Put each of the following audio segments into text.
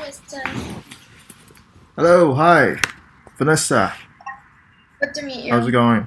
Jason. Hello, hi, Vanessa. Good to meet you. How's it going?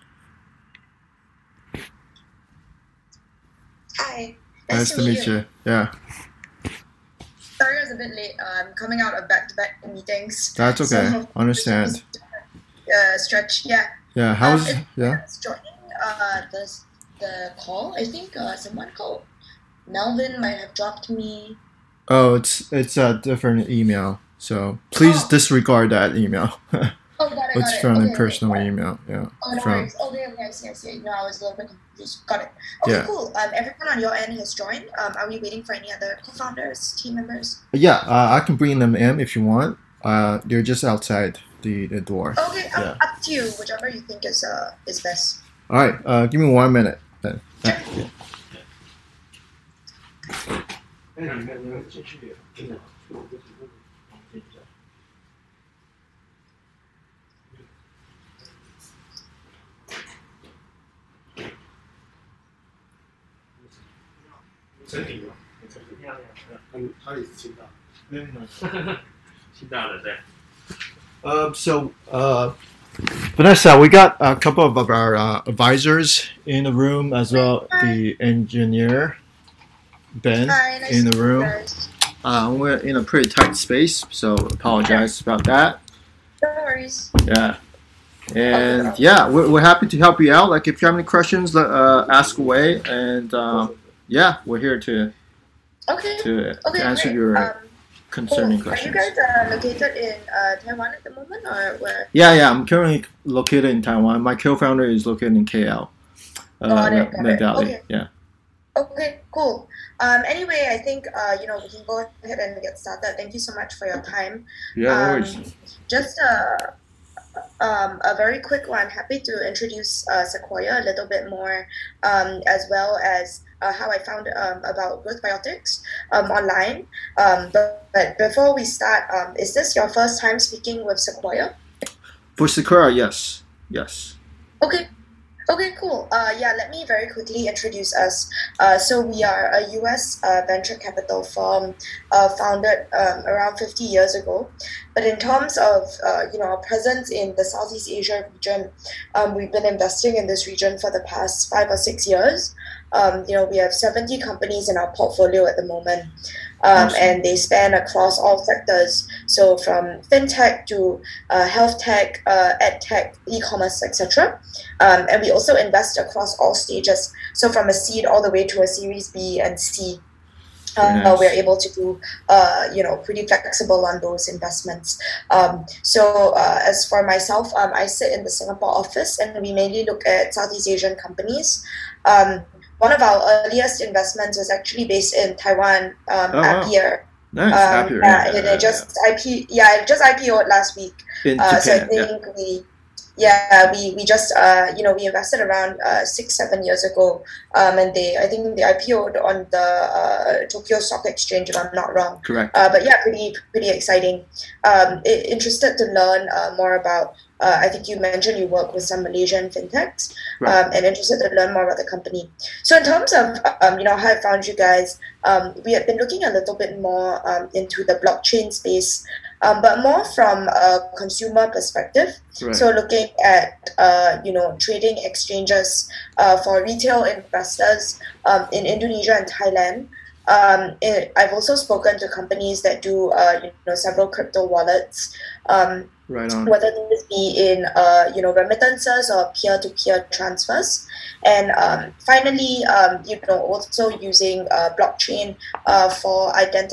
Hi. Nice to meet you. Yeah, Sorry I was a bit late. I'm coming out of back-to-back meetings. that's okay. So, Understand. stretch. Yeah. Yeah, If yeah? anyone's joining the call, I think someone called Melvin might have dropped me. Oh, it's a different email, so please Oh, disregard that email. oh, got it, got It's it. from a Okay, personal got it. email. Yeah, Oh, no from worries. Okay, I see. No, I was a little bit confused. Got it. Okay, yeah, cool. Everyone on your end has joined. Are we waiting for any other co-founders, team members? yeah. I can bring them in if you want. They're just outside the door. Okay, Yeah. up to you. Whichever you think is best. All right. Give me 1 minute then. Sure. 真理吗？他也是清大，清大的对。 So, Vanessa, we got a couple of our advisors in the room as well. The engineer, Ben, Hi, nice in to the meet you room. guys. We're in a pretty tight space, so apologize about that. No worries. Yeah. And yeah, we're happy to help you out. Like if you have any questions, ask away. And yeah, we're here to Okay. answer Great. your concerning Cool. questions. Are you guys located in Taiwan at the moment, or where? Yeah. I'm currently located in Taiwan. My co-founder is located in KL, Got it. Nagali. Okay. Yeah. Okay. Cool. Anyway, I think we can go ahead and get started. Thank you so much for your time. Yeah. No Um, worries. just a very quick one. Happy to introduce Sequoia a little bit more, as well as how I found about Growth Biotics online. But before we start, is this your first time speaking with Sequoia? For Sakura, yes. Okay. Okay, cool. Yeah, let me very quickly introduce us. So we are a US venture capital firm founded around 50 years ago. But in terms of our presence in the Southeast Asia region, we've been investing in this region for the past 5 or 6 years. We have 70 companies in our portfolio at the moment. Awesome. And they span across all sectors. So from fintech to health tech, ed tech, e-commerce, etc. And we also invest across all stages. So from a seed all the way to a Series B and C. Nice. We're able to do, pretty flexible on those investments. So as for myself, I sit in the Singapore office, and we mainly look at Southeast Asian companies. One of our earliest investments was actually based in Taiwan, Oh wow. Appier. Nice. Happy. It just IPO'd last week. In So I Japan. think we just we invested around 6-7 years ago, and I think they IPO'd on the Tokyo Stock Exchange, if I'm not wrong. Correct. But yeah, pretty exciting. Interested to learn more about. I think you mentioned you work with some Malaysian fintechs, Right. and interested to learn more about the company. So in terms of how I found you guys, we have been looking a little bit more into the blockchain space, but more from a consumer perspective. Right. So looking at trading exchanges for retail investors in Indonesia and Thailand. I've also spoken to companies that do several crypto wallets. Right on. Whether this be in remittances or peer-to-peer transfers, and finally also using blockchain for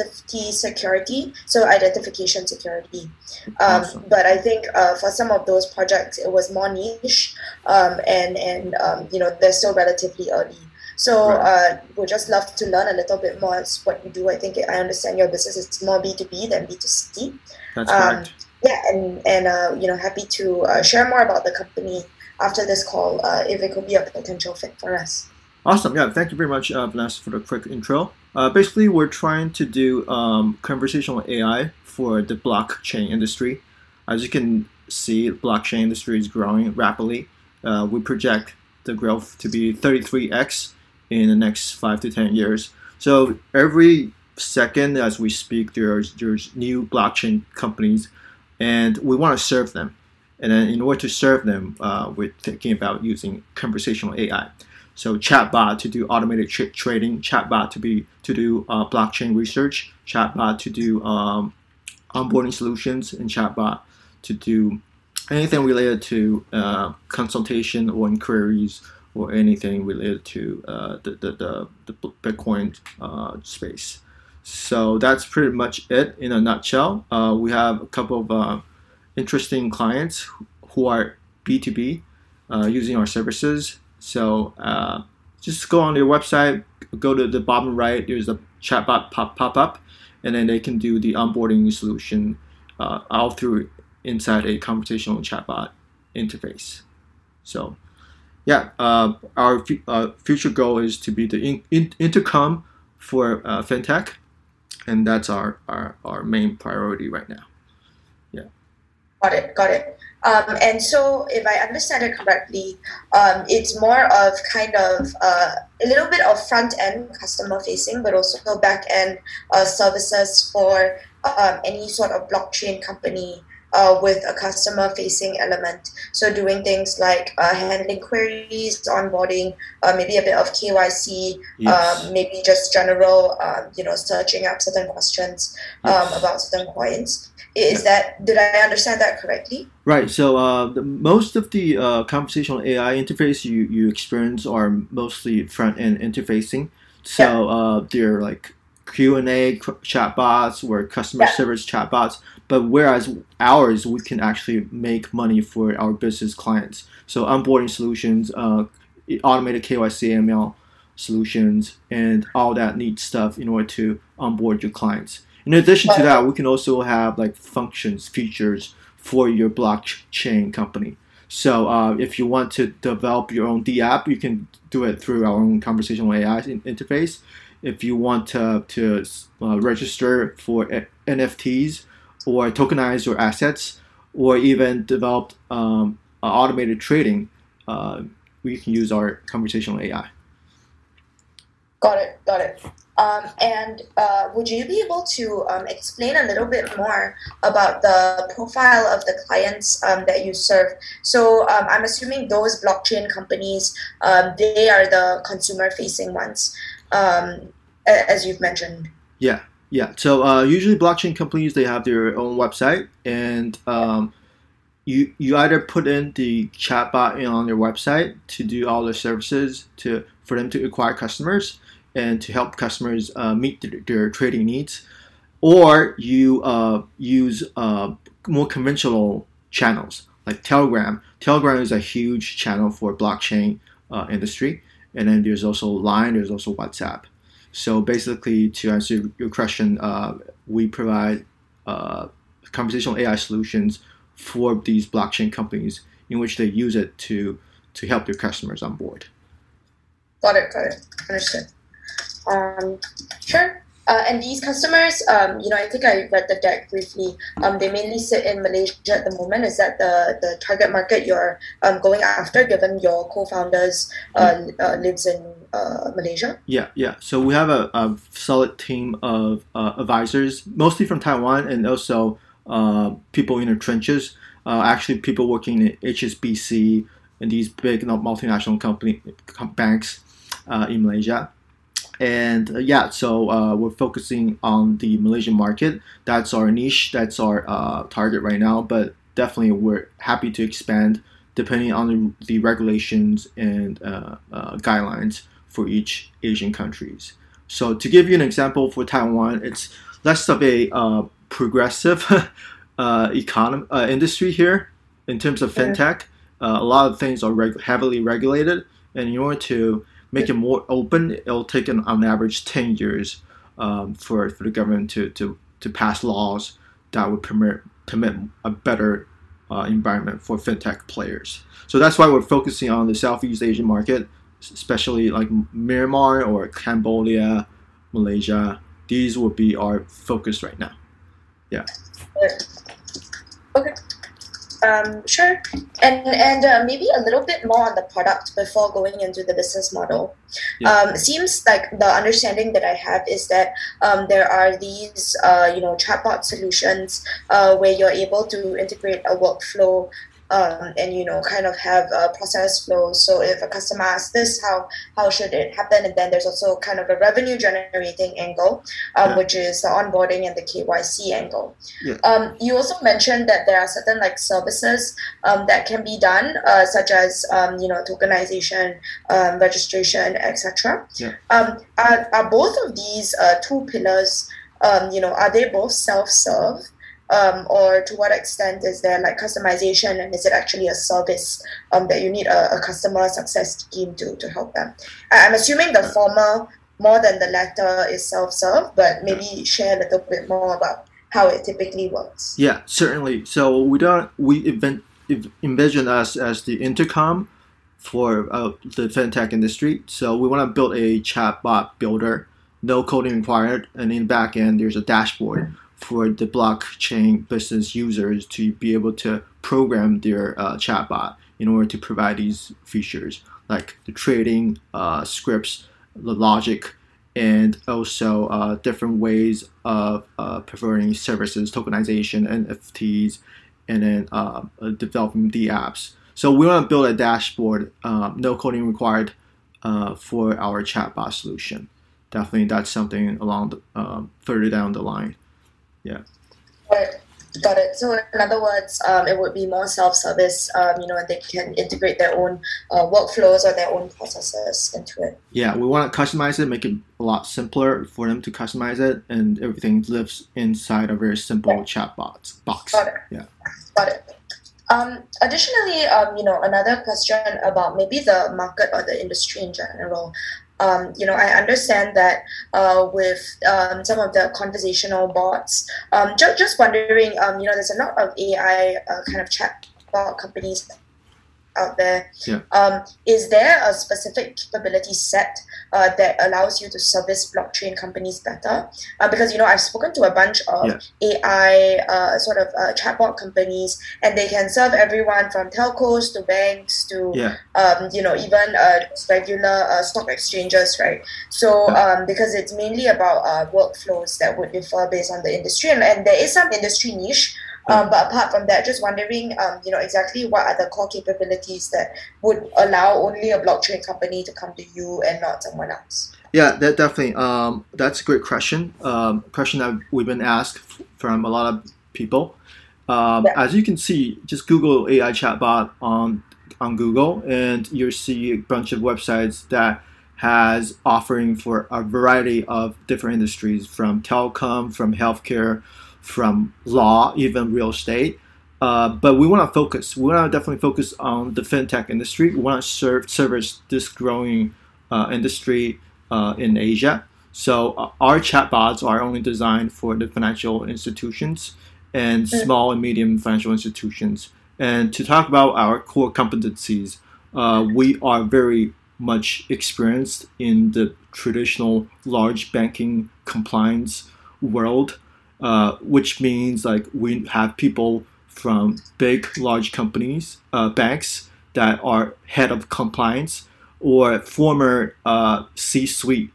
identification security. Awesome. But I think for some of those projects it was more niche, and they're still relatively early. So Right. we'd just love to learn a little bit more as what you do. I think I understand your business is more B2B than B2C. That's correct. Yeah, and happy to share more about the company after this call, if it could be a potential fit for us. Awesome. Yeah. Thank you very much, Vanessa, for the quick intro. Basically, we're trying to do conversational AI for the blockchain industry. As you can see, the blockchain industry is growing rapidly. We project the growth to be 33x in the next 5 to 10 years. So every second, as we speak, there's new blockchain companies, and we want to serve them. And then in order to serve them, we're thinking about using conversational AI. So chatbot to do automated trading, chatbot to do blockchain research, chatbot to do onboarding solutions, and chatbot to do anything related to consultation or inquiries or anything related to the Bitcoin space. So that's pretty much it in a nutshell. We have a couple of interesting clients who are B2B using our services. So just go on their website, go to the bottom right, there's a chatbot pop up, and then they can do the onboarding solution all through inside a conversational chatbot interface. So yeah, our future goal is to be the intercom for fintech, and that's our main priority right now. Yeah. Got it. And so, if I understand it correctly, it's more of kind of a little bit of front end customer facing, but also back end services for any sort of blockchain company with a customer facing element. So doing things like handling queries, onboarding, maybe a bit of KYC, Yes. maybe just general, searching up certain questions Yes. about certain coins. Did I understand that correctly? Right. So most of the conversational AI interface you experience are mostly front end interfacing. So they're like Q&A chatbots or customer service chatbots. But whereas ours, we can actually make money for our business clients. So onboarding solutions, automated KYC ML solutions, and all that neat stuff in order to onboard your clients. In addition to that, we can also have like functions, features for your blockchain company. So if you want to develop your own D app, you can do it through our own conversational AI interface. If you want to register for NFTs or tokenize your assets, or even develop automated trading, we can use our conversational AI. Got it. And would you be able to explain a little bit more about the profile of the clients that you serve? So I'm assuming those blockchain companies, they are the consumer-facing ones, as you've mentioned. Yeah. So usually blockchain companies, they have their own website, and you either put in the chatbot on their website to do all the services for them to acquire customers and to help customers meet their trading needs, or you use more conventional channels like Telegram. Telegram is a huge channel for blockchain industry, and then there's also Line, there's also WhatsApp. So basically, to answer your question, we provide conversational AI solutions for these blockchain companies in which they use it to help their customers on board. Got it. Understood. Sure. And these customers, I think I read the deck briefly. They mainly sit in Malaysia at the moment. Is that the target market you're going after, given your co-founders lives in Malaysia? Yeah. So we have a solid team of advisors, mostly from Taiwan, and also people in the trenches. Actually, people working in HSBC and these big multinational banks in Malaysia. And so we're focusing on the Malaysian market. That's our niche. That's our target right now. But definitely, we're happy to expand depending on the regulations and guidelines for each Asian countries. So to give you an example, for Taiwan, it's less of a progressive industry here in terms of fintech. A lot of things are heavily regulated, and in order to make it more open, it'll take on average 10 years for the government to pass laws that would permit a better environment for fintech players. So that's why we're focusing on the Southeast Asian market, especially like Myanmar or Cambodia, Malaysia. These will be our focus right now. Yeah. Okay. Sure. And maybe a little bit more on the product before going into the business model. Yeah. Seems like the understanding that I have is that there are these chatbot solutions where you're able to integrate a workflow and kind of have a process flow. So if a customer asks this, how should it happen? And then there's also kind of a revenue generating angle, which is the onboarding and the KYC angle. Yeah. You also mentioned that there are certain like services that can be done, such as tokenization, registration, etc. Yeah. Are both of these two pillars? Are they both self-serve? Or to what extent is there like customization, and is it actually a service that you need a customer success team to help them? I'm assuming the former more than the latter is self-serve, but maybe share a little bit more about how it typically works. Yeah, certainly. So we envision us as the intercom for the fintech industry. So we want to build a chatbot builder, no coding required, and in the back end there's a dashboard for the blockchain business users to be able to program their chatbot in order to provide these features like the trading scripts, the logic, and also different ways of providing services, tokenization, NFTs, and then developing the apps. So we want to build a dashboard, no coding required, for our chatbot solution. Definitely, that's something along the, further down the line. Yeah. Got it. So in other words, it would be more self-service. They can integrate their own workflows or their own processes into it. Yeah, we want to customize it, make it a lot simpler for them to customize it, and everything lives inside a very simple chat box. Got it. Yeah. Got it. Additionally, another question about maybe the market or the industry in general. I understand that with some of the conversational bots, just wondering, there's a lot of AI kind of chatbot companies out there. Yeah. Is there a specific capability set that allows you to service blockchain companies better? Because I've spoken to a bunch of AI sort of chatbot companies, and they can serve everyone from telcos to banks to even regular stock exchanges, right? So because it's mainly about workflows that would differ based on the industry, and there is some industry niche. But apart from that, just wondering, exactly what are the core capabilities that would allow only a blockchain company to come to you and not someone else? Yeah, that definitely. That's a great question. Question that we've been asked from a lot of people. As you can see, just Google AI chatbot on Google, and you'll see a bunch of websites that has offering for a variety of different industries, from telecom, from healthcare, from law, even real estate. But we want to focus. We want to definitely focus on the fintech industry. We want to service this growing industry in Asia. So our chatbots are only designed for the financial institutions and small and medium financial institutions. And to talk about our core competencies, we are very much experienced in the traditional large banking compliance world. Which means like we have people from big, large companies, banks that are head of compliance, or former C-suite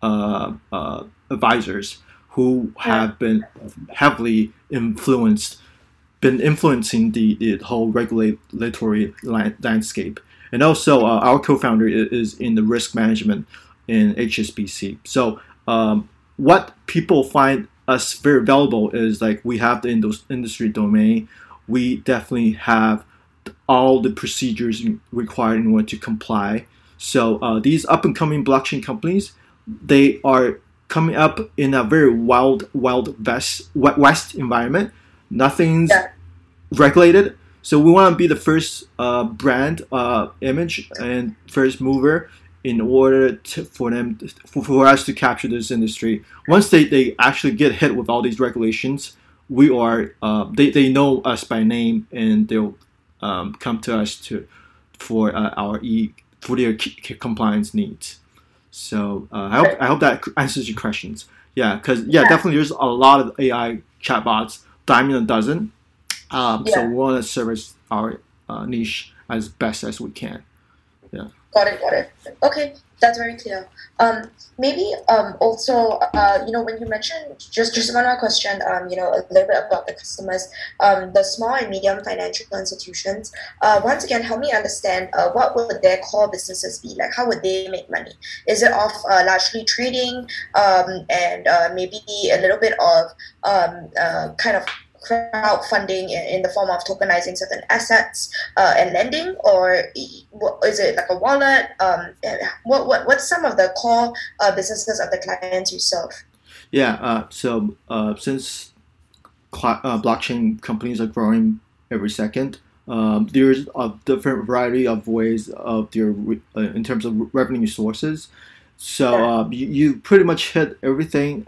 advisors who have been heavily influencing the whole regulatory landscape. And also, our co-founder is in the risk management in HSBC. So, what people find us very valuable is like we have the industry domain. We definitely have all the procedures required in order to comply. So these up and coming blockchain companies, they are coming up in a very wild west environment. Nothing's regulated. So we want to be the first brand image and first mover in order for us to capture this industry. Once they actually get hit with all these regulations, we are they know us by name, and they'll come to us for their compliance needs. So I hope that answers your questions. Yeah, because definitely there's a lot of AI chatbots, dime in a dozen, So we want to service our niche as best as we can. Yeah. Got it. Okay, that's very clear. Maybe also, when you mentioned just one more question, a little bit about the customers, the small and medium financial institutions. Once again, help me understand what would their core businesses be like? How would they make money? Is it off largely trading, and maybe a little bit of kind of crowdfunding in the form of tokenizing certain assets and lending, or is it like a wallet? What's some of the core businesses of the clients you serve? Yeah. So since blockchain companies are growing every second, there's a different variety of ways of their in terms of revenue sources. So you pretty much hit everything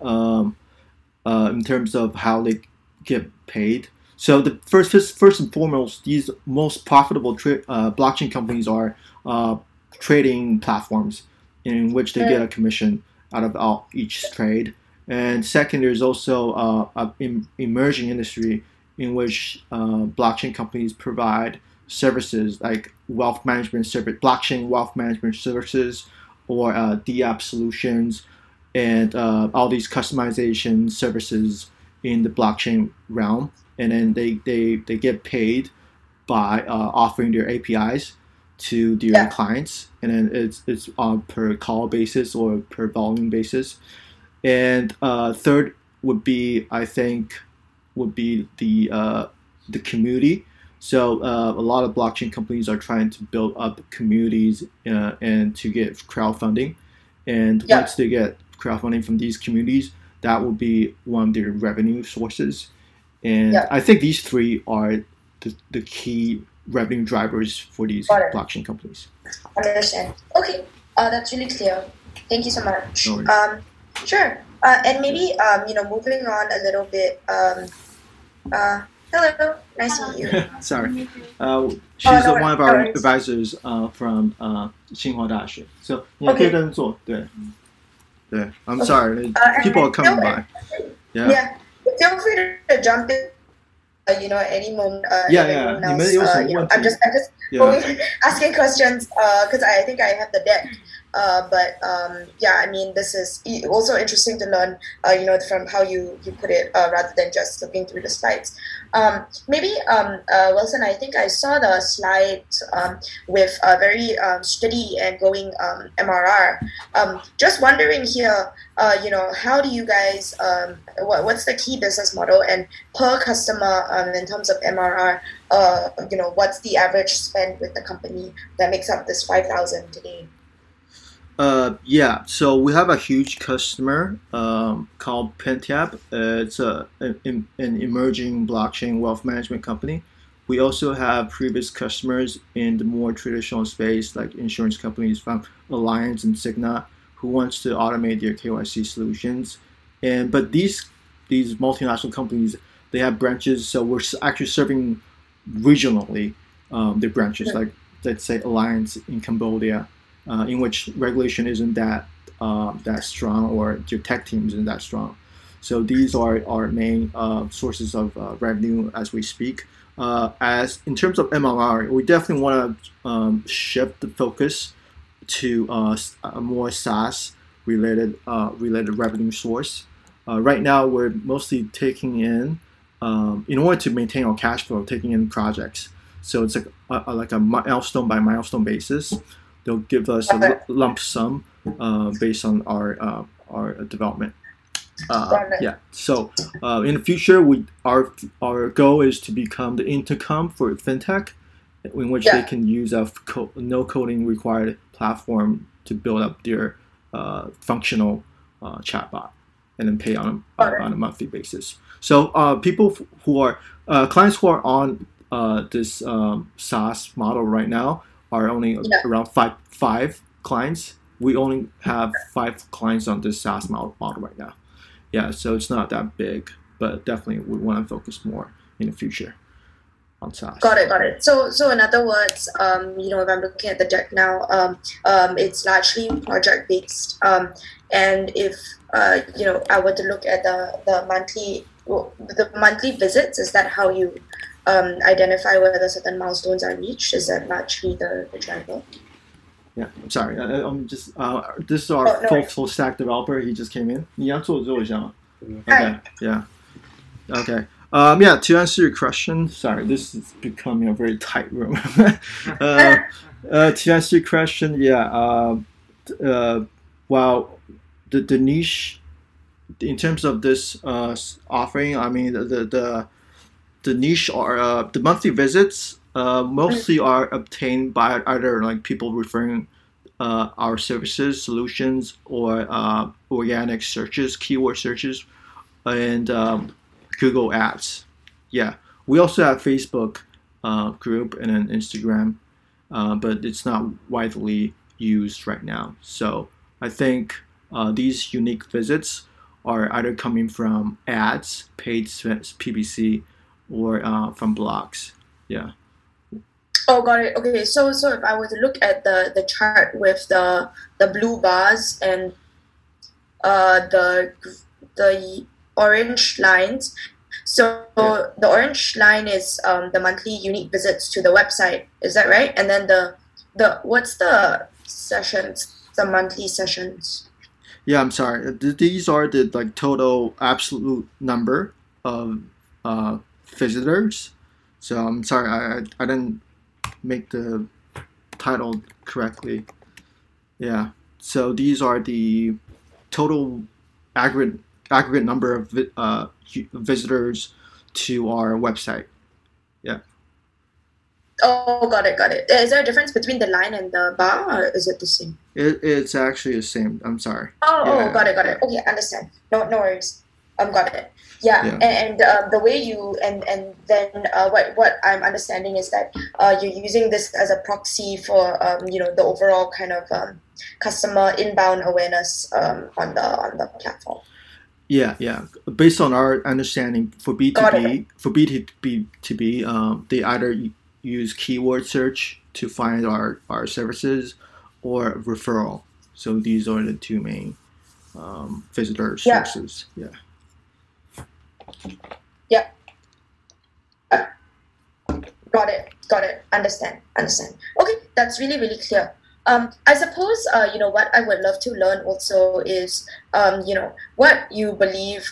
in terms of how they get paid. So the first and foremost, these most profitable blockchain companies are trading platforms in which they get a commission out of each trade. And second, there's also an emerging industry in which blockchain companies provide services like wealth management service, blockchain wealth management services, or DApp solutions, and all these customization services in the blockchain realm, and then they get paid by offering their APIs to their clients, and then it's on per call basis or per volume basis. And third would be, I think, the community. So a lot of blockchain companies are trying to build up communities and to get crowdfunding, and once they get crowdfunding from these communities, that will be one of their revenue sources. And I think these three are the key revenue drivers for these blockchain companies. Understand. Okay, that's really clear. Thank you so much. No worries. Sure. And maybe, moving on a little bit. Hello, nice to meet you. Sorry. She's one of our advisors from 清华大学. So, 你可以跟着做, 对. I'm sorry. People are coming by. Yeah. Feel free to jump in. At any moment. I'm just asking questions because I think I have the deck. This is also interesting to learn, from how you put it, rather than just looking through the slides. Maybe, Wilson, I think I saw the slide with a very steady and going MRR. Just wondering here, how do you guys, what's the key business model, and per customer in terms of MRR, what's the average spend with the company that makes up this 5,000 today? So we have a huge customer called Pentiap. It's an emerging blockchain wealth management company. We also have previous customers in the more traditional space, like insurance companies from Alliance and Cigna, who wants to automate their KYC solutions. But these multinational companies, they have branches, so we're actually serving regionally their branches, like let's say Alliance in Cambodia, in which regulation isn't that strong, or your tech team isn't that strong. So these are our main sources of revenue as we speak. As in terms of MRR, we definitely want to shift the focus to a more SaaS related revenue source. Right now, we're mostly taking in order to maintain our cash flow, taking in projects. So it's like a milestone by milestone basis. They'll give us a lump sum based on our development. So in the future, our goal is to become the intercom for fintech, in which they can use a no coding required platform to build up their functional chatbot, and then pay on a monthly basis. So people who are clients who are on this SaaS model right now are only around five clients. We only have 5 clients on this SaaS model right now. So it's not that big, but definitely we want to focus more in the future on SaaS. Got it. So in other words, if I'm looking at the deck now, it's largely project based. And if I were to look at the monthly visits, is that how you identify whether certain milestones are reached? Is that actually the driver? Yeah, I'm sorry. I'm just this is our full stack developer. He just came in. 你要做一下吗? Okay. Yeah. Okay. Yeah. To answer your question, sorry, this is becoming a very tight room. To answer your question, yeah. Well, the niche in terms of this offering, I mean the niche are the monthly visits mostly are obtained by either like people referring our services, solutions, or organic searches, keyword searches, and Google Ads. Yeah, we also have Facebook group and an Instagram, but it's not widely used right now. So I think these unique visits are either coming from ads, paid PPC, or from blogs. Yeah. Oh, got it. Okay, so if I were to look at the chart with the blue bars and the orange lines, so the orange line is the monthly unique visits to the website. Is that right? And then the what's the sessions? The monthly sessions. Yeah, I'm sorry. These are the like total absolute number of visitors. So I'm sorry, I didn't make the title correctly. Yeah. So these are the total aggregate number of visitors to our website. Yeah. Oh, got it. Is there a difference between the line and the bar, or is it the same? It's actually the same. I'm sorry. Oh, got it. Okay, understand. No worries. Got it. Yeah. And the way you and then what I'm understanding is that you're using this as a proxy for the overall kind of customer inbound awareness on the platform. Yeah. Based on our understanding, for B2B, they either use keyword search to find our services or referral. So these are the two main visitor sources. Yeah. Got it. Understand. Okay, that's really, really clear. I suppose what I would love to learn also is what you believe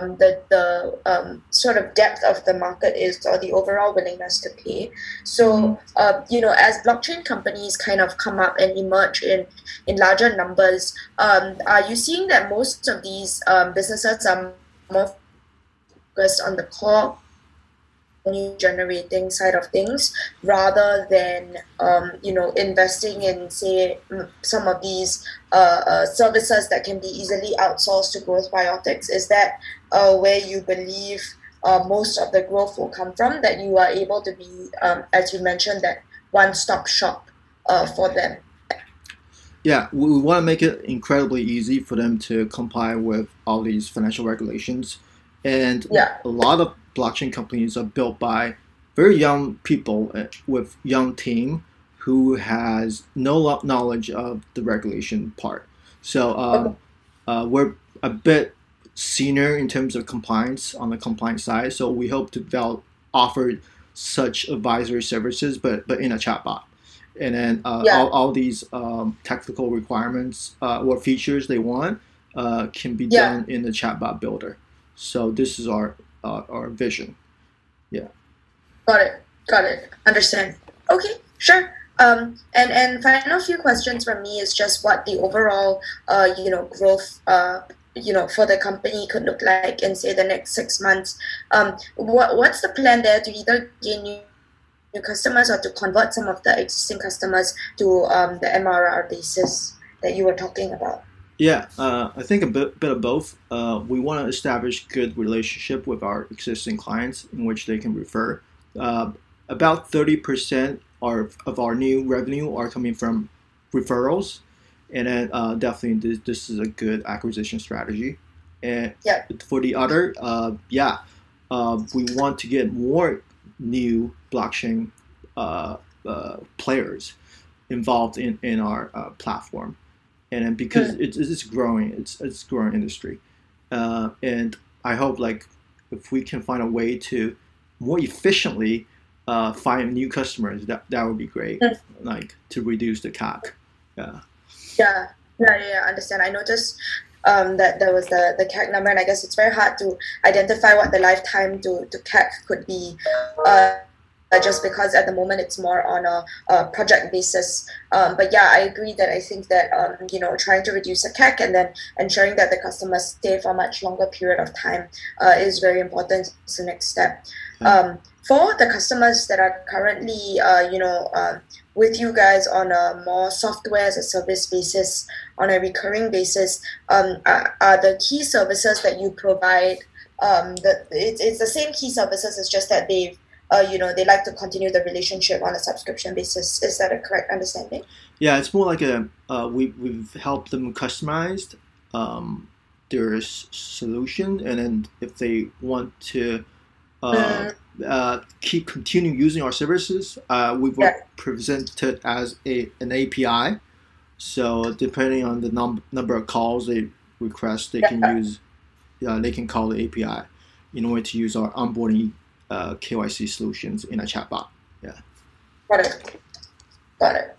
the sort of depth of the market is, or the overall willingness to pay. So as blockchain companies kind of come up and emerge in larger numbers, are you seeing that most of these businesses are more focused on the core revenue generating side of things rather than investing in, say, some of these services that can be easily outsourced to Growth Biotics? Is that where you believe most of the growth will come from, that you are able to be, as you mentioned, that one-stop shop for them? Yeah, we want to make it incredibly easy for them to comply with all these financial regulations. And a lot of blockchain companies are built by very young people with young team who has no knowledge of the regulation part. So we're a bit senior in terms of compliance on the compliance side. So we hope to offer such advisory services, but in a chatbot. And then all these technical requirements or features they want can be done in the chatbot builder. So this is our vision. Yeah. Got it. Understand. Okay, sure. And final few questions from me is just what the overall growth for the company could look like in, say, the next 6 months. What's the plan there to either gain new customers or to convert some of the existing customers to the MRR basis that you were talking about? Yeah, I think a bit of both. We want to establish good relationship with our existing clients in which they can refer. About 30% of our new revenue are coming from referrals, and then definitely this is a good acquisition strategy. And for the other, we want to get more new blockchain players involved in our platform. And then because it's growing, it's growing industry, and I hope if we can find a way to more efficiently find new customers, that would be great. Like to reduce the CAC. Yeah. Yeah. Understand. I noticed that there was the CAC number, and I guess it's very hard to identify what the lifetime to CAC could be. Just because at the moment it's more on a project basis. But yeah, I agree that I think that trying to reduce the CAC and then ensuring that the customers stay for a much longer period of time is very important. It's the next step. For the customers that are currently with you guys on a more software as a service basis, on a recurring basis, are the key services that you provide it's the same key services, it's just that they like to continue the relationship on a subscription basis. Is that a correct understanding? Yeah, it's more like we've helped them customize their solution, and then if they want to continue using our services, we will present it as an API. So depending on the number of calls they request, they can use. They can call the API in order to use our onboarding KYC solutions in a chatbot. Yeah. Got it.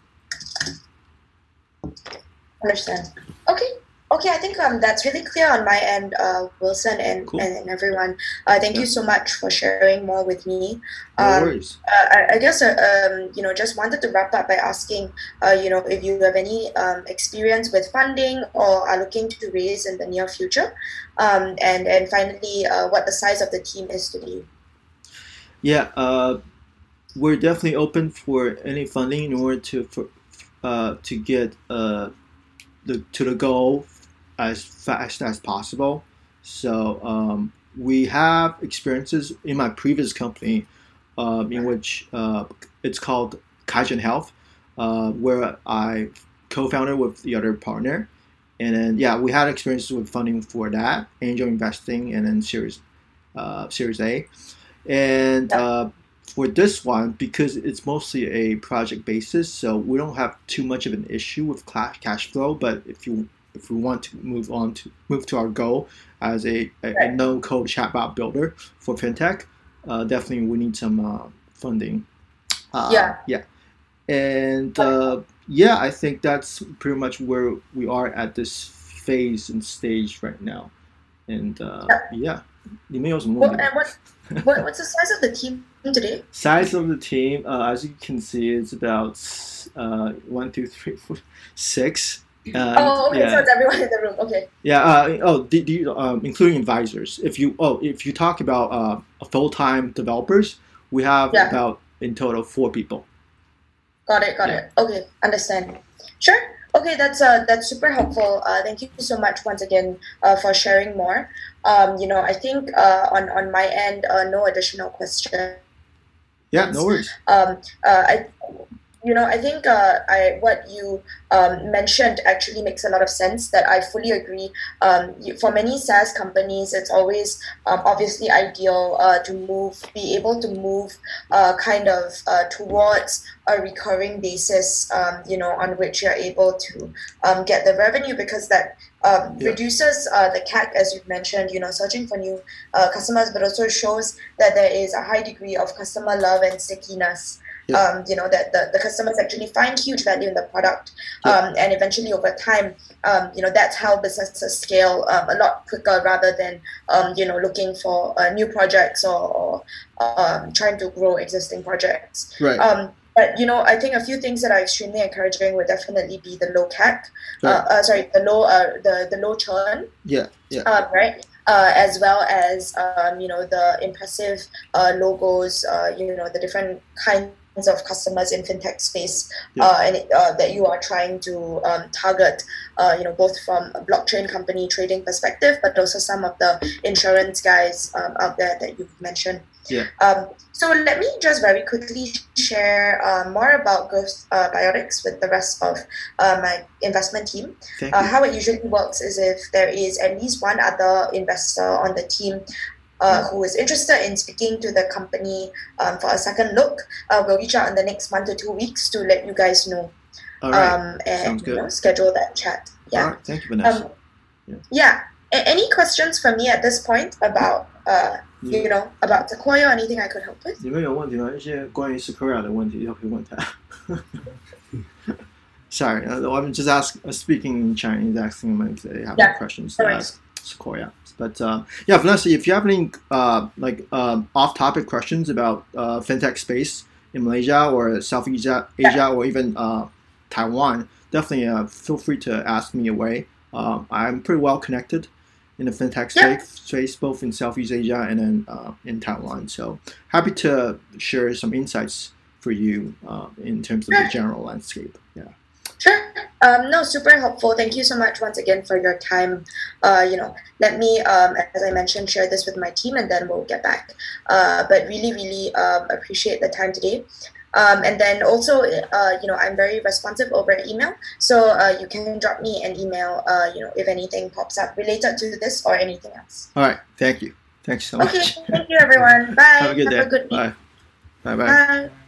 Understand. Okay. I think that's really clear on my end, Wilson and everyone. Thank you so much for sharing more with me. No worries. I guess just wanted to wrap up by asking, if you have any experience with funding or are looking to raise in the near future, and finally, what the size of the team is today. Yeah, we're definitely open for any funding in order to get to the goal as fast as possible. So we have experiences in my previous company, in which it's called Kaizen Health, where I co-founded with the other partner, and then we had experiences with funding for that, angel investing, and then Series A. And for this one, because it's mostly a project basis, so we don't have too much of an issue with cash flow. But if we want to move to our goal as a no-code chatbot builder for fintech, definitely we need some funding. And I think that's pretty much where we are at this phase and stage right now. And你们有什么问题？ What's the size of the team today? Size of the team, as you can see, it's about 1, 2, 3, 4, 6. So it's everyone in the room. Okay. Yeah. Including advisors. If you talk about full-time developers, we have about in total 4 people. Got it. Okay, understand. Sure. Okay, that's super helpful. Thank you so much once again for sharing more. I think on my end, no additional questions. Yeah, no worries. I think what you mentioned actually makes a lot of sense, that I fully agree. For many SaaS companies, it's always obviously ideal to be able to move towards a recurring basis, on which you're able to get the revenue, because that reduces the CAC, as you've mentioned, searching for new customers, but also shows that there is a high degree of customer love and stickiness. That the customers actually find huge value in the product, and eventually over time, that's how businesses scale a lot quicker, rather than looking for new projects or trying to grow existing projects. Right. But I think a few things that are extremely encouraging would definitely be the low CAC, the low churn. Yeah. Right. As well as the impressive logos, the different kinds of customers in fintech space, that you are trying to target, both from a blockchain company trading perspective, but also some of the insurance guys out there that you've mentioned. Yeah. So let me just very quickly share more about Growth Biotics with the rest of my investment team. How it usually works is, if there is at least one other investor on the team who is interested in speaking to the company for a second look, we'll reach out in the next 1 to 2 weeks to let you guys know. All right. And Sounds good. Schedule that chat. Yeah. All right. Thank you, Vanessa. Any questions for me at this point about you know, about Sequoia or anything I could help with? 你们有问题吗？一些关于 Sequoia 的问题，要可以问他。Sorry, I'm just speaking in Chinese, asking them if they have any questions to ask Sequoia. But yeah, Vanessa, if you have any off-topic questions about fintech space in Malaysia or Southeast Asia or even Taiwan, definitely feel free to ask me away. I'm pretty well connected in the fintech space, both in Southeast Asia and then in Taiwan. So happy to share some insights for you in terms of the general landscape. Yeah. Sure. No, super helpful. Thank you so much once again for your time. You know, let me, as I mentioned, share this with my team and then we'll get back. But really appreciate the time today. And then also, you know, I'm very responsive over email. So you can drop me an email, you know, if anything pops up related to this or anything else. All right. Thank you. Thanks so much. Okay. Thank you, everyone. Bye. Have a good day. Have a good week. Bye. Bye-bye. Bye.